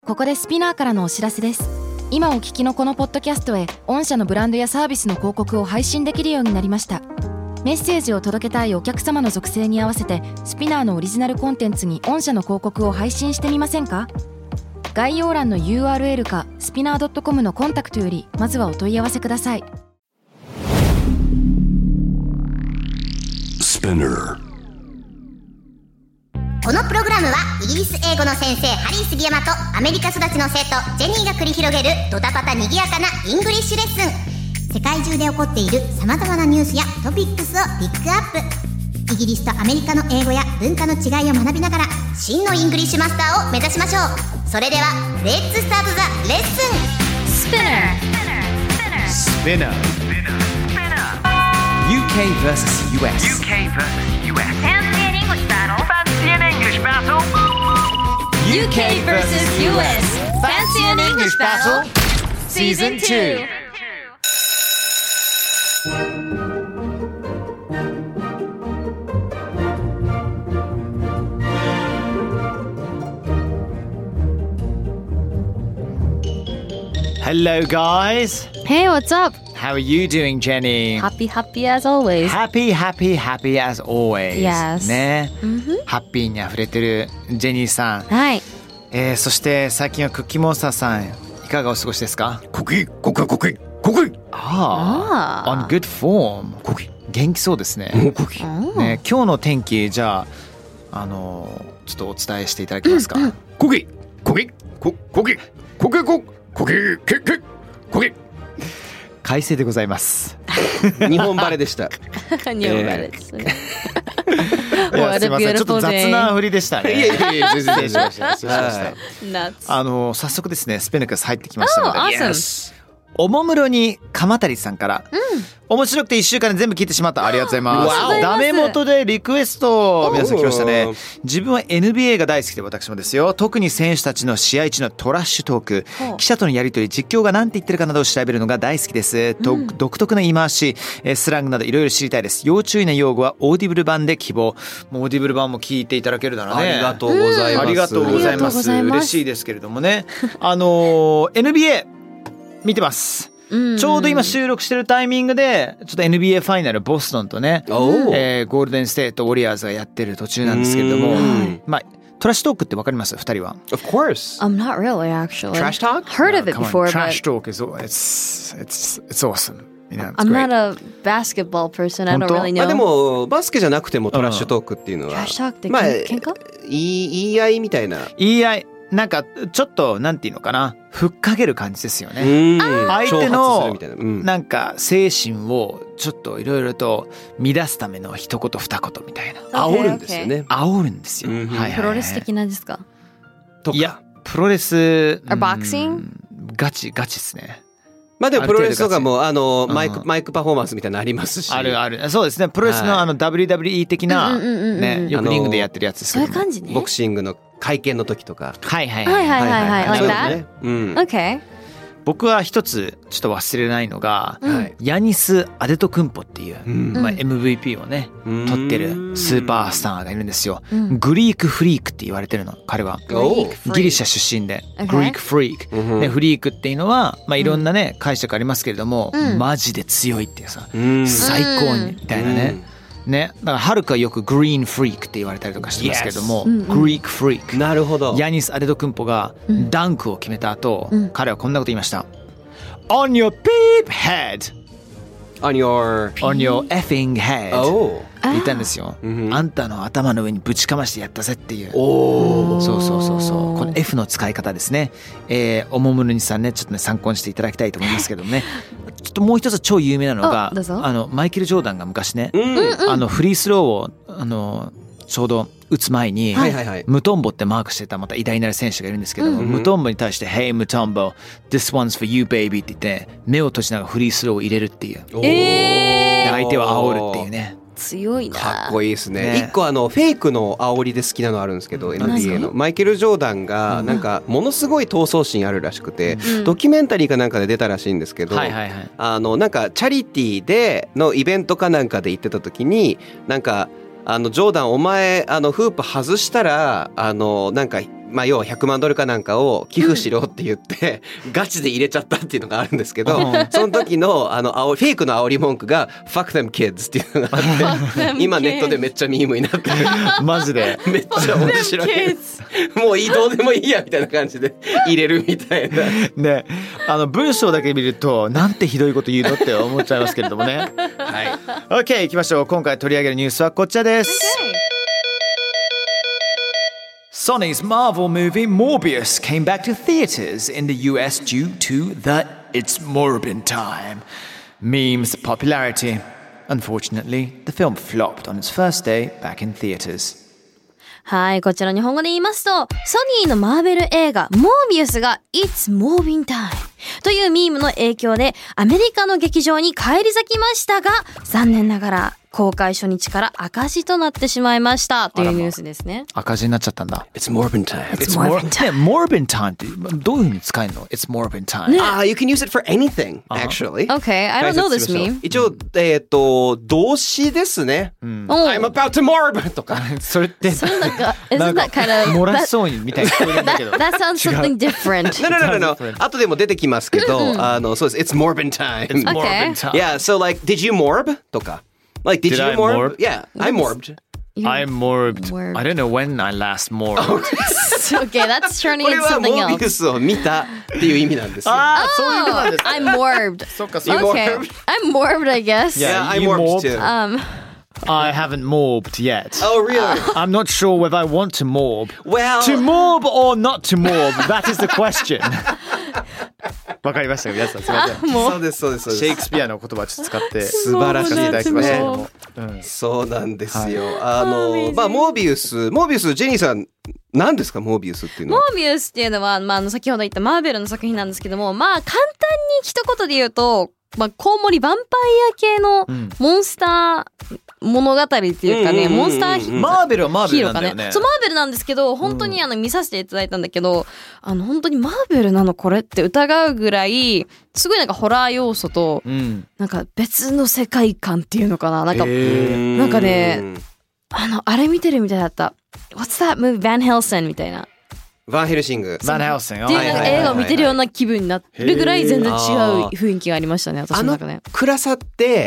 ここでスピナーからのお知らせです。今お聞きのこのポッドキャストへ御社のブランドやサービスの広告を配信できるようになりました。メッセージを届けたいお客様の属性に合わせてスピナーのオリジナルコンテンツに御社の広告を配信してみませんか？概要欄の URL かスピナー .com のコンタクトよりまずはお問い合わせください。 このプログラムはイギリス英語の先生ハリー杉山とアメリカ育ちの生徒ジェニーが繰り広げるドタパタにぎやかなイングリッシュレッスン。世界中で起こっている様々なニュースやトピックスをピックアップ。イギリスとアメリカの英語や文化の違いを学びながら真のイングリッシュマスターを目指しましょう。それではレッツスタートザレッスン。 Spinner UK vs US Fancy an English battle? Fancy an English battle? UK vs US Fancy an English Battle Season 2. Hello guys. Hey, what's up? How are you doing, Jenny? Happy as always. Happy as always. Yes. ね、ハッピーにあふれてるジェニーさん。 はい。 そして最近はクッキーモンスターさんいかがお過ごしですか？ コキああ、on good form。 コキ元気そうですね。 コキね、今日の天気じゃあちょっとお伝えしていただけますか？ コキ快晴でございます。 日本晴れでした。 日本晴れですね。 いやすいません、ちょっと雑な振りでしたね。 いや全然失礼しました失礼しました。 Nuts. 早速ですね、スペネクス入ってきましたので、 awesome. おもむろに鎌谷さんから、面白くて1週間で全部聞いてしまった。ありがとうございます。ダメ元でリクエスト皆さん来ましたね。自分は NBA が大好きで、私もですよ。特に選手たちの試合中のトラッシュトーク、記者とのやり取り、実況が何て言ってるかなどを調べるのが大好きです。独特な言い回し、スラングなどいろいろ知りたいです。要注意な用語はオーディブル版で希望。もうオーディブル版も聞いていただけるならね、 ありがとうございます。 ありがとうございます。嬉しいですけれどもね。NBA 見てます。ちょうど今収録してるタイミングでちょっと NBA ファイナルボストンとね、ゴールデンステートウォリアーズがやってる途中なんですけれども、まあトラッシュトークってわかります？2人は。 Of course. I'm not really actually. Trash talk? Heard of it before, but Trash talk is it's awesome. You know, it's I'm great. not a basketball person. I don't 本当？ really まあ know. でもバスケじゃなくてもトラッシュトークっていうのは、 トラッシュトークってまあ喧嘩？ 言い合いみたいな。 言い合い、なんかちょっとなんていうのかな、ふっかける感じですよね。相手のなんか精神をちょっといろいろと乱すための一言二言みたいな。 煽るんですよね。 煽るんですよ。はいプロレス的なですか？ とか。 いやプロレス。 Or boxing？ ガチですね。 まあでもプロレスとかもマイクパフォーマンスみたいなのありますし。 ある。そうですね。プロレスのWWE 的なね、よくリングでやってるやつですけど。 そういう感じね。 ボクシングの会見の時とか。 はい。Like that? Okay. 僕は一つちょっと忘れないのが、ヤニス・アデトクンポっていう、MVP をね取ってるスーパースターがいるんですよ。グリークフリークって言われてるの、彼は。ギリシャ出身で、グリークフリーク、フリークっていうのは、まあ、いろんなね解釈ありますけれども、マジで強いっていうさ、最高にみたいなね。だからハルクはよくグリーンフリークって言われたりとかしてますけれども、グリークフリーク。 なるほど。 ヤニス・アデトクンポがダンクを決めた後、彼はこんなこと言いました。On your beep head. On your effing head. って言ったんですよ。あんたの頭の上にぶちかましてやったぜっていう。そうこの F の使い方ですね。おもむろにさんね、ちょっとね参考にしていただきたいと思いますけどもね。ちょっともう一つ超有名なのが、マイケル・ジョーダンが昔ね、フリースローをちょうど打つ前に、ムトンボってマークしてたまた偉大なる選手がいるんですけども、ムトンボに対して Hey ムトンボ This one's for you baby って言って目を閉じながらフリースローを入れるっていう。相手を煽るっていうね。 強いな。 かっこいいですね。一個フェイクの煽りで好きなのあるんですけど、 NBA のマイケル・ジョーダンがなんかものすごい闘争心あるらしくて、ドキュメンタリーかなんかで出たらしいんですけど、なんかチャリティーでのイベントかなんかで行ってた時に、なんかジョーダンお前フープ外したらなんかまあ要は100万ドルかなんかを寄付しろって言って、ガチで入れちゃったっていうのがあるんですけど、その時のフェイクの煽り文句が Fuck them kids っていうのがあって今ネットでめっちゃミームになってるマジでめっちゃ面白いもうどうでもいいやみたいな感じで入れるみたいなね、文章だけ見るとなんてひどいこと言うのって思っちゃいますけれどもねはい OK 行きましょう。今回取り上げるニュースはこちらです、Sony's Marvel movie Morbius came back to theaters in the US due to the It's Morbin time meme's popularity. Unfortunately, the film flopped on its first day back in theaters. はい、こちら日本語で言いますと、ソニーのマーベル映画モービウスが It's Morbin time というミームの影響でアメリカの劇場に返り咲きましたが、残念ながら公開初日から赤字となってしまいましたというニュースですね。 赤字になっちゃったんだ。 It's Morbin time. It's Morbin time. Morbin time ってどういう風に使えるの？ It's Morbin time. You can use it for anything, actually. Okay, I don't know this meme. 一応、動詞ですね。I'm about to morb とか。 それってなんか isn't that kind of 漏らしそうにみたいな聞こえるんだけど。 That sounds something different. No. 後でも出てきますけど、そうです。It's Morbin time. It's Morbin time. Yeah, so like, did you morb? とか。Like, did you I morb? morb? Yeah, I morbed. I morbed. I don't know when I last morbed. Okay, that's turning これ into は something モービウ else. スを見たっていう意味なんですよ。 ああ、そういうことなんですね。 I'm morbed. そっかそっか。 Okay, I'm morbed, I guess. Yeah, I you morbed morbed? too. I haven't morbed yet. Oh, really? I'm not sure whether I want to morb. Well, To morb or not to morb, that is the question. わかりましたか皆さん、すみません。 そうですそうですそうです。 シェイクスピアの言葉をちょっと使って素晴らしいいただきましたけども。 そうなんですよ。まあモービウス、ジェニーさん何ですかモービウスっていうのは？ モービウスっていうのは、先ほど言ったマーベルの作品なんですけども、簡単に一言で言うと、コウモリヴァンパイア系のモンスター物語っていうかね、モンスターヒマーベルはマーベルなんだよね。 そう、マーベルなんですけど、本当に見させていただいたんだけど、本当にマーベルなのこれって疑うぐらい、すごいなんかホラー要素と、なんか別の世界観っていうのかな、なんかね、あれ見てるみたいだった。What's that movie? Van Helsing みたいな。 バンヘルシング。 バンヘルシング。 っていう映画を見てるような気分になるぐらい全然違う雰囲気がありましたね、私の中で。 暗さって、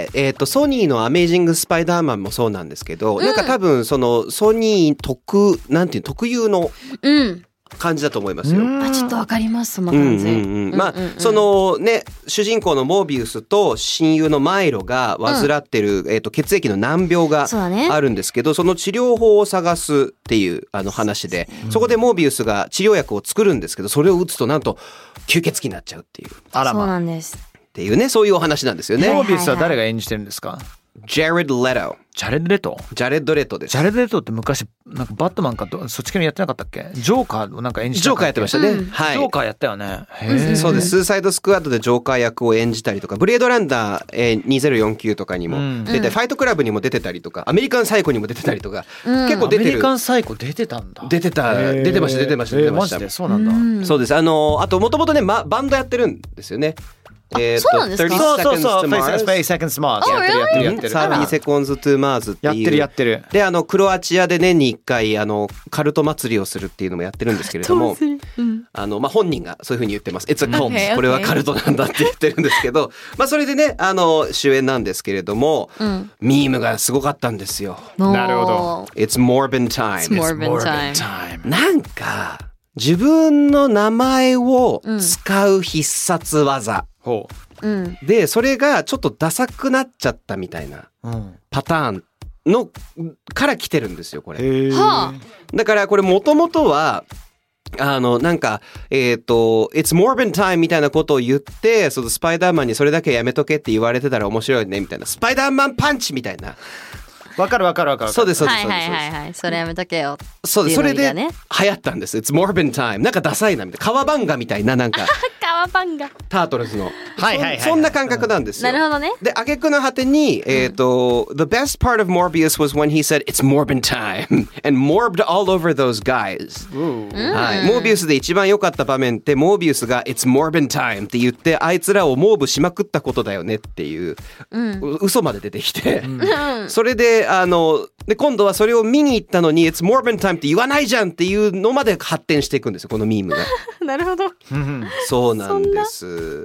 ソニーのアメージングスパイダーマンもそうなんですけど、なんか多分そのソニー特有の感じだと思いますよ。 ちょっとわかります、その感じ。 そのね、主人公のモービウスと親友のマイロが患ってる、血液の難病があるんですけど、その治療法を探すっていう話で、そこでモービウスが治療薬を作るんですけど、それを打つとなんと吸血鬼になっちゃうっていう。 あらま。 そうなんです。 っていうね、そういうお話なんですよね。 モービウスは誰が演じてるんですか？ ジャレッド・レト。 ジャレッド・レト？ ジャレッド・レトです。 ジャレッド・レトって昔なんかバットマンかそっち系のやってなかったっけ？ジョーカーをなんか演じてたっけ？ ジョーカーやってましたね。はい。 ジョーカーやったよね。 そうです。スーサイド・スクワッドでジョーカー役を演じたりとか、ブレードランダー、2049とかにも出て、ファイトクラブにも出てたりとか、アメリカンサイコにも出てたりとか、結構出てる。 アメリカンサイコ出てたんだ。 出てました。 マジでそうなんだ。 そうです。あともともとね、バンドやってるんですよね。そうなんですか？ そう30 seconds to Mars やってる 30 seconds to Mars っていうやってるでクロアチアで年に1回カルト祭りをするっていうのもやってるんですけれども本人がそういうふうに言ってます。 It's a cult、これはカルトなんだって言ってるんですけどそれでね主演なんですけれども、ミームがすごかったんですよ。 なるほど。 It's Morbin time。 It's Morbin time。 なんか自分の名前を使う必殺技、でそれがちょっとダサくなっちゃったみたいなパターンのから来てるんですよこれ。だからこれもともとはなんかIt's Morbin time みたいなことを言ってそのスパイダーマンにそれだけやめとけって言われてたら面白いねみたいなスパイダーマンパンチみたいな。 わかる。 そうです。 はいそれやめとけよ。 そうです。それで流行ったんです。It's Morbin time。なんかダサいなみたいな。川漫画みたいななんか革パンがタートルズのはいはいはいそんな感覚なんですよ。 なるほどね。 で挙句の果てにThe best part of Morbius was when he said It's Morbin time and morbed all over those guys、はい、モービウスで一番良かった場面ってモービウスが It's Morbin time って言ってあいつらをモーブしまくったことだよねっていう、嘘まで出てきて、それでで今度はそれを見に行ったのに It's Morbin time って言わないじゃんっていうのまで発展していくんですよこのミームが。 なるほど。 そうなんです。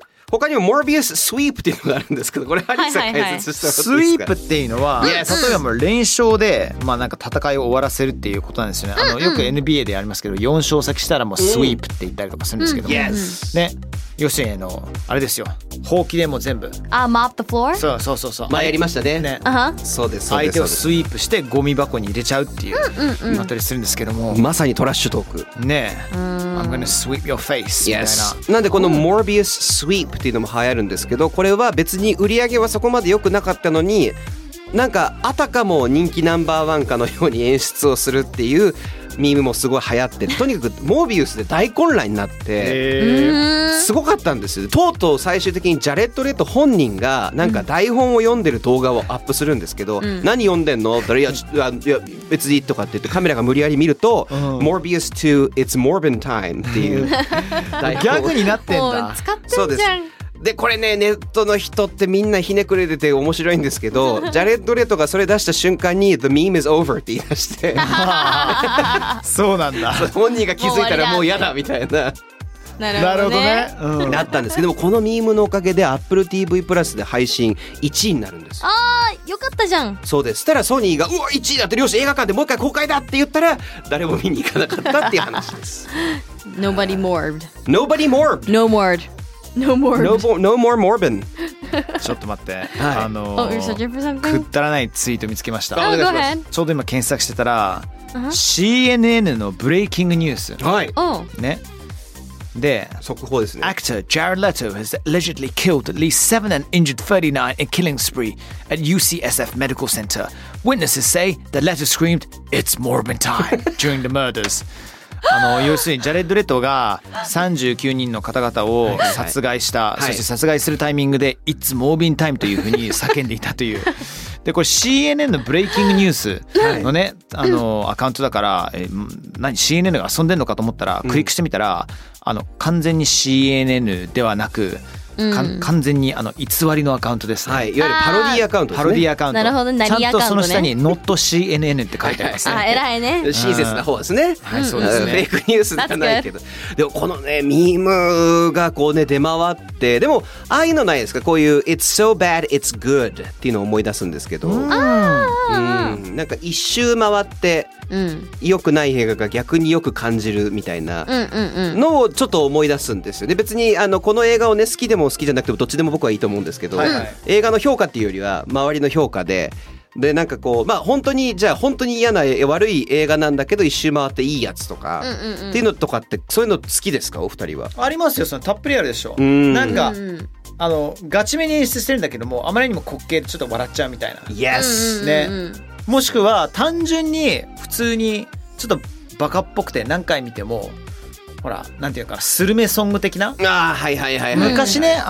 他にもモービウススイープっていうのがあるんですけどこれハリーさん解説してもらっていいですか。 スイープっていうのは、例えばもう連勝で、なんか戦いを終わらせるっていうことなんですよね。よく NBA でありますけど4勝先したらもうスイープって言ったりとかするんですけども、ね、要するにあれですよ、ほうきでも全部 mop the floor。 そう前やりましたね。そうです。 相手をスイープしてゴミ箱に入れちゃうっていうあったりするんですけども、 まさにトラッシュトークね。I'm gonna sweep your face みたいな。 なんでこの Morbius sweepっていうのも流行るんですけど、これは別に売り上げはそこまで良くなかったのになんかあたかも人気ナンバーワンかのように演出をするっていうミームもすごい流行って、とにかくモービウスで大混乱になってすごかったんですよ。とうとう最終的にジャレッド・レト本人がなんか台本を読んでる動画をアップするんですけど、何読んでんの？いや別にとかって言ってカメラが無理やり見ると、Morbius to It's Morbin time っていうギャグになってんだ。 使ってんじゃん。 でこれねネットの人ってみんなひねくれてて面白いんですけどジャレッド・レトがそれ出した瞬間に The meme is over って言い出してそうなんだ。 本人が気づいたらもう嫌だみたいな。 なるほどね。 なったんですけども、このミームのおかげで Apple TV プラスで配信1位になるんです。 よかったじゃん。そうです。したらソニーがうわ1位だってよし映画館でもう一回公開だって言ったら誰も見に行かなかったっていう話です。 Nobody morbed. Nobody morbed. No morbed.No more morbin ちょっと待って、 くだらないツイート見つけました。 ちょうど今検索してたら、CNN のブレイキングニュース、ね、で速報ですね。 Actor Jared Leto has allegedly killed at least 7 and injured 39 in a killing spree at UCSF Medical Center. Witnesses say that Leto screamed, "It's Morbin time" during the murders. 要するにジャレッド・レトが39人の方々を殺害した、そして殺害するタイミングで It's Morbin time というふうに叫んでいたという。でこれ CNN のブレイキングニュースのね、アカウントだから、CNN が遊んでんのかと思ったら、クリックしてみたら完全に CNN ではなく完全に偽りのアカウントですね。 はい、いわゆるパロディアカウントですね。 パロディアカウント。 なるほど、何アカウントね。 ちゃんとその下に Not CNN って書いてありますね。 偉いね。 親切な方ですね。 はい、そうですね。 フェイクニュースじゃないけど。でもこのねミームがこうね出回って、でもああいうのないですか？こういう It's so bad it's good っていうのを思い出すんですけど、なんか一周回って良くない映画が逆によく感じるみたいなのをちょっと思い出すんですよね。別にこの映画をね好きでも好きじゃなくてもどっちでも僕はいいと思うんですけど、映画の評価っていうよりは周りの評価でなんかこう本当にじゃあ本当に嫌な悪い映画なんだけど一周回っていいやつとかっていうのとかってそういうの好きですかお二人は？ ありますよ。そのたっぷりあるでしょ。なんかガチめに演出してるんだけどもあまりにも滑稽でちょっと笑っちゃうみたいな。 Yes ね。もしくは単純に普通にちょっとバカっぽくて何回見てもほらなんていうかスルメソング的な。昔ね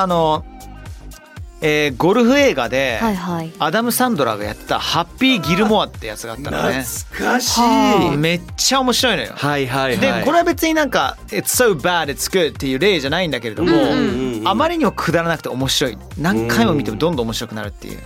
ゴルフ映画でアダム・サンドラーがやってたハッピー・ギルモアってやつがあったのね。 懐かしい。 めっちゃ面白いのよ。でこれは別になんか It's so bad it's good っていう例じゃないんだけれども、あまりにもくだらなくて面白い。何回も見てもどんどん面白くなるっていう。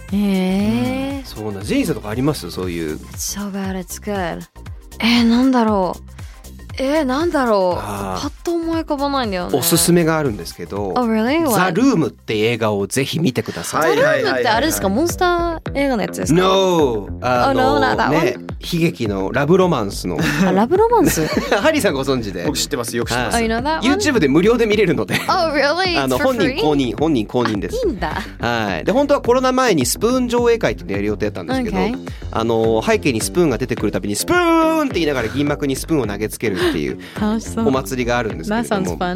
そうな。ジェニーさんとかあります？そういう It's so bad it's good。なんだろう。パッと思い浮かばないんだよね。 おすすめがあるんですけど、 really? ザ・ルームって映画をぜひ見てください。 ザ・ルームってあれですか？モンスター映画のやつですか？ No、ね、悲劇のラブロマンスのラブロマンスハリーさんご存知で。 僕知ってます。よく知ってます。 YouTube で無料で見れるので really? 本人公認です。 いいんだ。 はい。で本当はコロナ前にスプーン上映会ってやる予定だったんですけど、背景にスプーンが出てくるたびにスプーンって言いながら銀幕にスプーンを投げつけるっていうお祭りがあるんですけれども、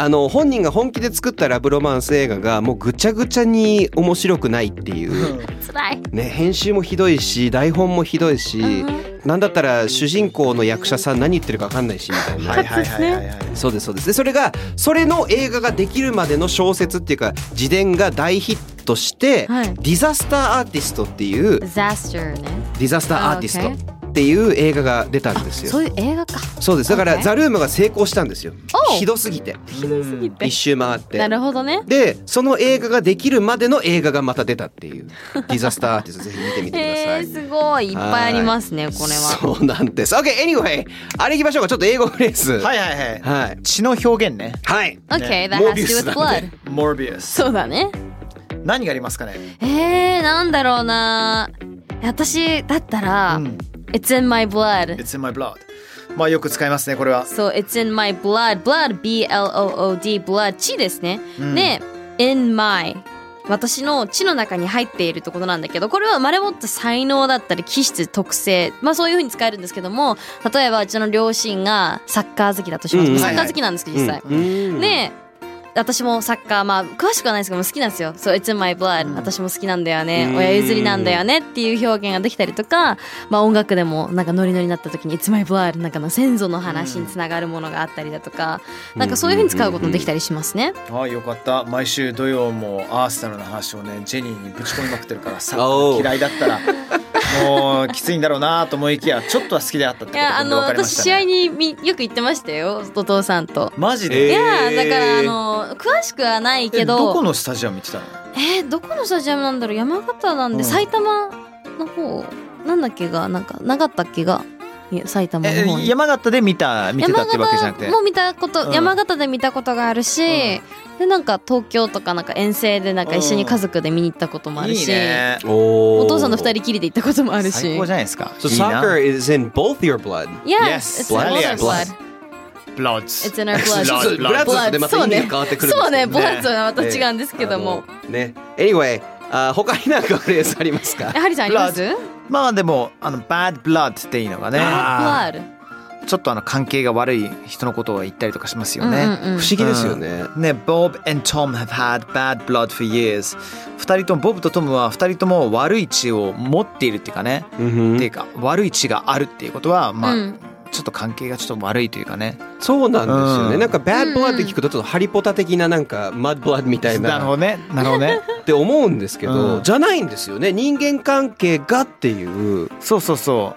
本人が本気で作ったラブロマンス映画がもうぐちゃぐちゃに面白くないっていう辛いね、編集もひどいし台本もひどいし、なんだったら主人公の役者さん何言ってるか分かんないしみたいな。 はいはいはいはいはい。 そうですそうです。でそれの映画ができるまでの小説っていうか自伝が大ヒットして、 はい、 ディザスターアーティストっていうディザスターね。 ディザスターアーティストっていう映画が出たんですよ。 そういう映画か。 そうです。だからザルームが成功したんですよ。ひどすぎて一周回って。 なるほどね。 でその映画ができるまでの映画がまた出たっていうディザスターアーティストぜひ見てみてください。 すごいいっぱいありますねこれは。 そうなんです。 OK anyway あれいきましょうか。ちょっと英語フレーズ。 はいはいはい、 はい、 血の表現ね。 はい、 OK that has to do with blood。 モービウス。 そうだね。 何がありますかね。 なんだろうな。私だったら、It's in my blood。 It's in my blood。 まあよく使いますねこれは。 そう、It's in my blood。 blood B-L-O-O-D blood 血ですね、で in my 私の血の中に入っているってことなんだけど、これは生まれ持った才能だったり気質特性、まあそういう風に使えるんですけども、例えばうちの両親がサッカー好きだとします、サッカー好きなんですけど実際、で私もサッカーまあ詳しくはないですけど好きなんですよ。そう It's in my blood、私も好きなんだよね、親譲りなんだよねっていう表現ができたりとか、まあ音楽でもなんかノリノリになった時に It's my blood なんかの先祖の話につながるものがあったりだとか、なんかそういう風に使うこともできたりしますね。 ああよかった。毎週土曜もアーセナルの話をねジェニーにぶち込みまくってるから、サッカー嫌いだったらもうきついんだろうなと思いきやちょっとは好きであったってことが分かりましたね。 私試合によく行ってましたよお父さんと。 マジで。 いやだから詳しくはないけど。 どこのスタジアム行ってたの。 どこのスタジアムなんだろう。山形なんで、埼玉の方なんだっけがなんかなかったっけが埼玉の方に。 山形で見てたってわけじゃなくて。 もう見たこと、山形で見たことがあるし、でなんか東京とかなんか遠征でなんか一緒に家族で見に行ったこともあるし、 いいね、 お父さんの二人きりで行ったこともあるし。 最高じゃないですか。 So soccer is in both your blood. Yes, it's in both our blood. Bloods. It's in our blood. ブラッドでまた意味が変わってくるんですよね。 そうね、ブラッドはまた違うんですけども。 ね。Anyway、他になんかフレーズありますか。 ハリさんあります？ まあでもbad blood っていうのがね。 Bad blood。 ちょっと関係が悪い人のことを言ったりとかしますよね。 不思議ですよね。 ね、Bob and Tom have had bad blood for years。二人ともボブとトムは二人とも悪い血を持っているっていうかね。っていうか悪い血があるっていうことはまあ。ちょっと関係がちょっと悪いというかね。 そうなんですよね。なんか bad blood って聞くとちょっとハリポタ的ななんか mud blood みたいな。 なるほどね。なるほどね。 って思うんですけど、じゃないんですよね。人間関係がっていう。 そうそうそう。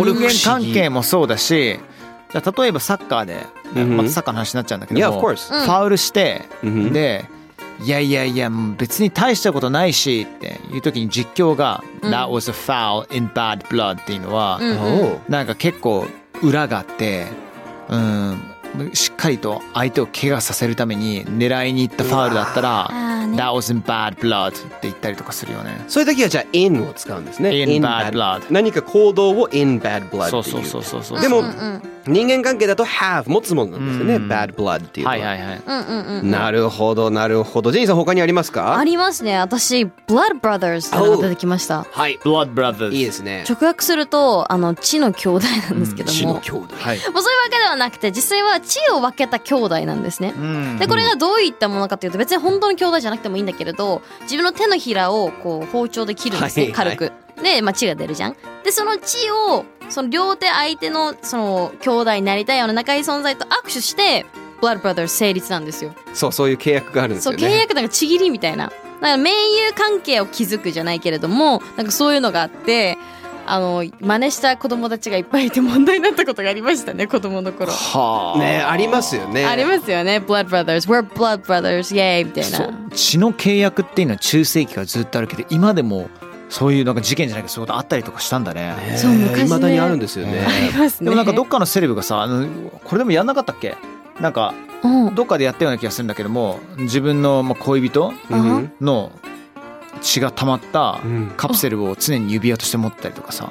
人間関係もそうだし、じゃあ例えばサッカーで、またサッカーの話になっちゃうんだけども、ファウルして、で、いやいやいや別に大したことないしっていう時に実況が、That was a foul in bad blood っていうのは、なんか結構裏があって、しっかりと相手を怪我させるために狙いに行ったファウルだったら That was in bad blood って言ったりとかするよね。 そういう時はじゃあ in を使うんですね。 in bad blood。 何か行動を in bad blood っていう。 そうでも人間関係だと have 持つものなんですよね。bad blood っていうのは。 はいはいはい。 なるほどなるほど。ジェニーさん他にありますか？ ありますね。私 Blood Brothers ってのが出てきました。 はい。 Blood Brothers いいですね。 直訳すると血の兄弟なんですけども、 血の兄弟。はい。 もうそういうわけではなくて実際は血を分けた兄弟なんですね。でこれがどういったものかというと、別に本当の兄弟じゃなくてもいいんだけれど、自分の手のひらをこう包丁で切るんですね、軽く。で、血が出るじゃん。でその血をその両手相手のその兄弟になりたいような仲いい存在と握手してBlood Brothers 成立なんですよ。 そういう契約があるんですよね。 そう、契約なんかちぎりみたいな。だから盟友関係を築くじゃないけれども、なんかそういうのがあって、真似した子供たちがいっぱいいて問題になったことがありましたね、子供の頃。 ね、ありますよね。 ありますよね。Blood Brothers, we're Blood Brothers, yay みたいな。 血の契約っていうのは中世紀からずっとあるけど、今でもそういうなんか事件じゃないけどそういうことあったりとかしたんだね。 そう、昔ね。 未だにあるんですよね。 ありますね。 でもなんかどっかのセレブがさ、これでもやんなかったっけ？なんかどっかでやったような気がするんだけども、自分の恋人の血が溜まったカプセルを常に指輪として持ったりとかさ。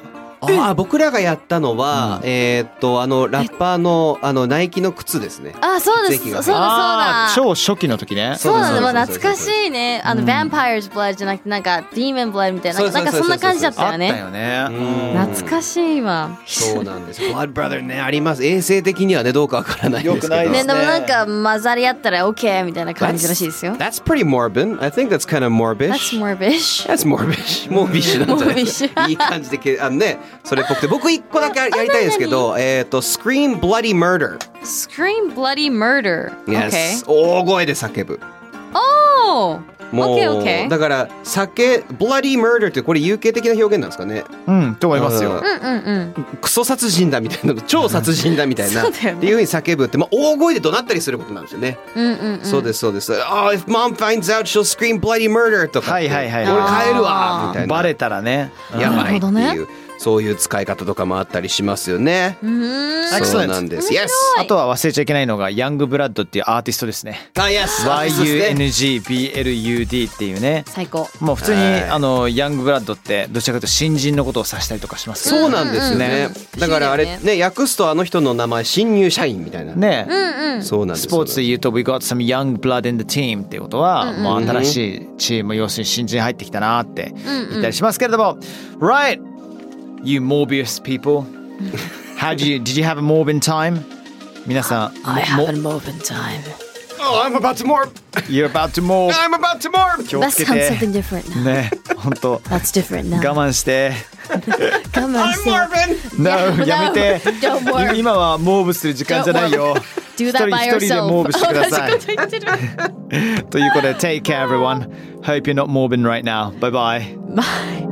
僕らがやったのは、ラッパーのナイキの靴ですね。 そうです。そうだ。 超初期の時ね。 そうだね。懐かしいね。Vampire's Blood じゃなくてなんか Demon Blood みたいな、なんかそんな感じだったよね。 あったよね。 懐かしいわ。 そうなんです。Blood Brother ね、あります。衛生的にはねどうかわからないですけど。 ね、でもなんか混ざり合ったら OK みたいな感じらしいですよ。 That's pretty morbid. I think that's kind of morbish. That's morbish. That's morbish. モービッシュなんじゃないですか。いい感じでね、それっぽくて、僕一個だけやりたいですけど、Scream Bloody Murder. Scream Bloody Murder. Yes. 大声で叫ぶ。もうだからBloody Murder ってこれ有形的な表現なんですかね。 と思いますよ。 クソ殺人だみたいな、超殺人だみたいなっていう風に叫ぶって、大声で怒鳴ったりすることなんですよね。そうですそうです。If mom finds out she'll scream bloody murder とか、俺帰るわみたいな。 バレたらね、 やばいっていう。そういう使い方とかもあったりしますよね。そうなんです。Yes。 あとは忘れちゃいけないのがヤングブラッドっていうアーティストですね。 Yes。 YUNGBLUD っていうね。 最高。 もう普通にヤングブラッドってどちらかというと新人のことを指したりとかしますそうなんですね。だからあれね、訳すとあの人の名前新入社員みたいな。 ね。 そうなんです。 スポーツで言うと We got some young blood in the team っていうことはもう新しいチーム、要するに新人入ってきたなって言ったりしますけれども、Right。You Morbius people. Did you have a Morbin time? 皆さん。 I have a Morbin time. Oh, I'm about to morb. You're about to morb. I'm about to morb. That sounds something different now. ね、本当。 That's different now. 我慢して。 我慢して。 I'm morbin. No, やめて。 Don't morb. 今はモーブする時間じゃないよ。 Do that by yourself. 一人でモーブしてください。ということで、take care everyone. Hope you're not morbing right now. Bye bye. Bye.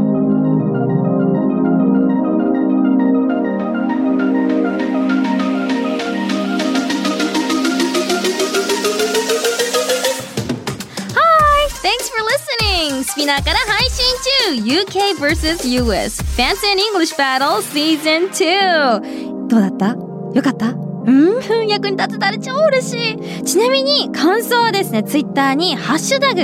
スピナーから配信中 UK vs.US Fancy and English Battle Season 2。どうだった？よかった？役に立てたら超嬉しい。ちなみに感想はですね、ツイッターにハッシュタグ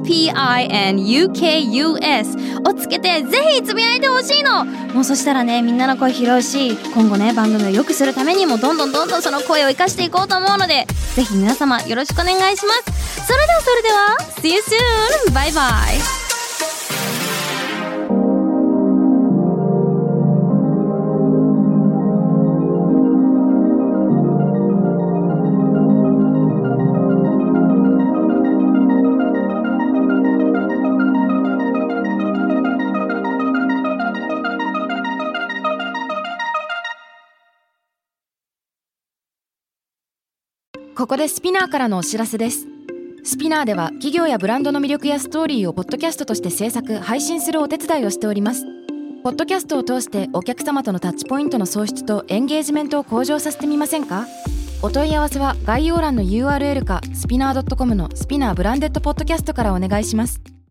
SPINUKUS をつけてぜひつぶやいてほしいの。もうそしたらね、みんなの声拾うし、今後ね番組を良くするためにもどんどんその声を生かしていこうと思うので、ぜひ皆様よろしくお願いします。それでは See you soon! バイバイ。 ここでスピナーからのお知らせです。スピナーでは企業やブランドの魅力やストーリーをポッドキャストとして制作・配信するお手伝いをしております。ポッドキャストを通してお客様とのタッチポイントの創出とエンゲージメントを向上させてみませんか？お問い合わせは概要欄の URL かスピナー .com のスピナーブランデッドポッドキャストからお願いします。